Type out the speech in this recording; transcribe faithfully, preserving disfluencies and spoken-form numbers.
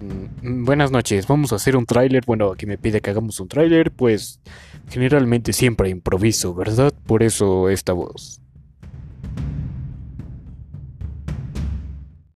Mm, Buenas noches, vamos a hacer un tráiler. Bueno, aquí me pide que hagamos un tráiler, pues generalmente siempre improviso, ¿verdad? Por eso esta voz.